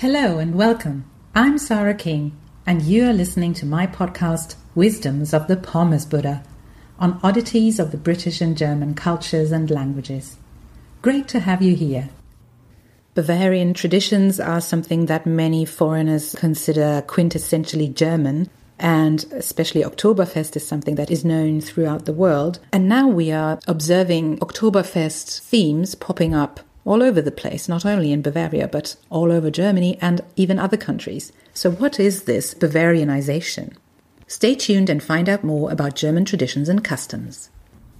Hello and welcome. I'm Sarah King, and you are listening to my podcast, Wisdoms of the Pommes Buddha, on oddities of the British and German cultures and languages. Great to have you here. Bavarian traditions are something that many foreigners consider quintessentially German, and especially Oktoberfest is something that is known throughout the world. And now we are observing Oktoberfest themes popping up all over the place, not only in Bavaria, but all over Germany and even other countries. So what is this Bavarianization? Stay tuned and find out more about German traditions and customs.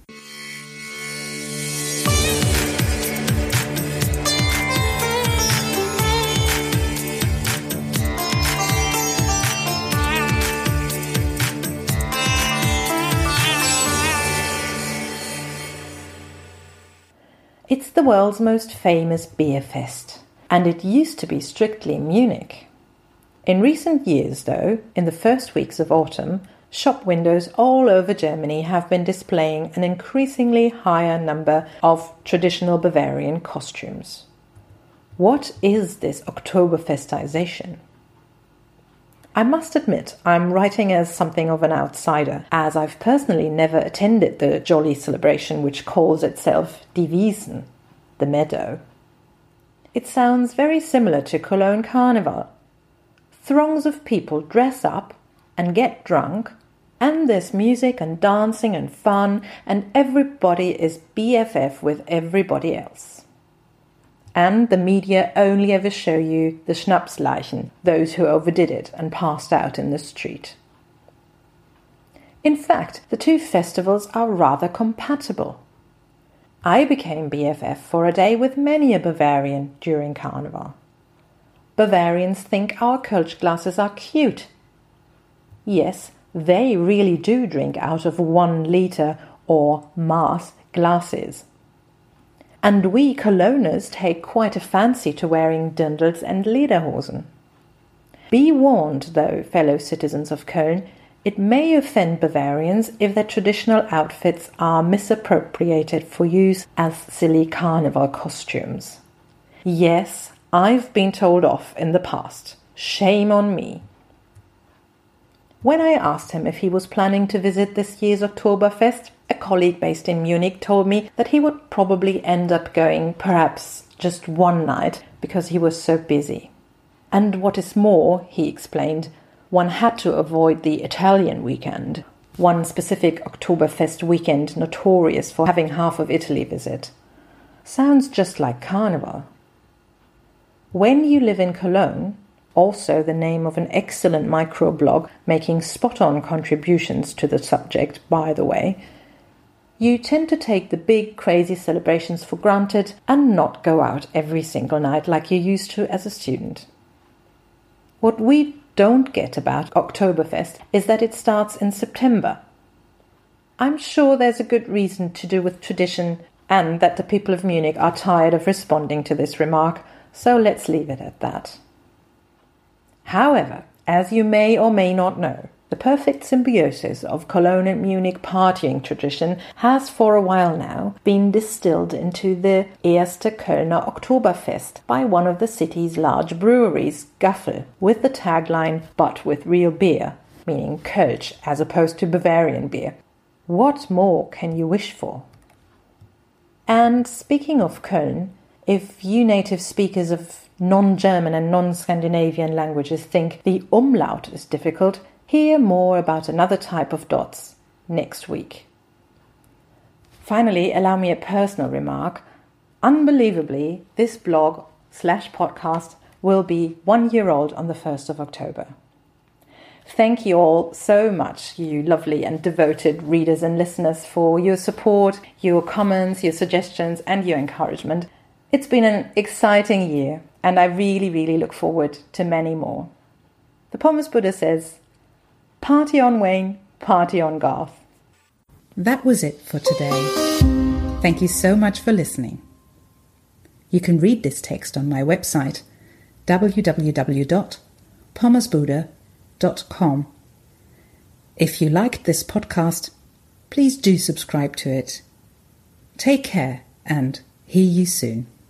It's the world's most famous beer fest, and it used to be strictly Munich. In recent years, though, in the first weeks of autumn, shop windows all over Germany have been displaying an increasingly higher number of traditional Bavarian costumes. What is this Oktoberfestization? I must admit, I'm writing as something of an outsider, as I've personally never attended the jolly celebration which calls itself Die Wiesen, the meadow. It sounds very similar to Cologne Carnival. Throngs of people dress up and get drunk, and there's music and dancing and fun, and everybody is BFF with everybody else. And the media only ever show you the Schnapsleichen, those who overdid it and passed out in the street. In fact, the two festivals are rather compatible. I became BFF for a day with many a Bavarian during Carnival. Bavarians think our Kölsch glasses are cute. Yes, they really do drink out of 1 liter or Maß glasses. And we Cologners take quite a fancy to wearing Dirndls and Lederhosen. Be warned, though, fellow citizens of Köln, it may offend Bavarians if their traditional outfits are misappropriated for use as silly carnival costumes. Yes, I've been told off in the past. Shame on me. When I asked him if he was planning to visit this year's Oktoberfest, a colleague based in Munich told me that he would probably end up going perhaps just one night because he was so busy. And what is more, he explained, one had to avoid the Italian weekend, one specific Oktoberfest weekend notorious for having half of Italy visit. Sounds just like Carnival. When you live in Cologne, also the name of an excellent microblog making spot-on contributions to the subject, by the way, you tend to take the big, crazy celebrations for granted and not go out every single night like you used to as a student. What we don't get about Oktoberfest is that it starts in September. I'm sure there's a good reason to do with tradition and that the people of Munich are tired of responding to this remark, so let's leave it at that. However, as you may or may not know, the perfect symbiosis of Cologne and Munich partying tradition has for a while now been distilled into the Erste Kölner Oktoberfest by one of the city's large breweries, Gaffel, with the tagline, "But with real beer," meaning Kölsch as opposed to Bavarian beer. What more can you wish for? And speaking of Köln, if you native speakers of non-German and non-Scandinavian languages think the umlaut is difficult, hear more about another type of dots next week. Finally, allow me a personal remark. Unbelievably, this blog/podcast will be 1 year old on the 1st of October. Thank you all so much, you lovely and devoted readers and listeners, for your support, your comments, your suggestions, and your encouragement. It's been an exciting year, and I really look forward to many more. The Pommes Buddha says, party on Wayne, party on Garth. That was it for today. Thank you so much for listening. You can read this text on my website, www.pommesbuddha.com. If you liked this podcast, please do subscribe to it. Take care and hear you soon.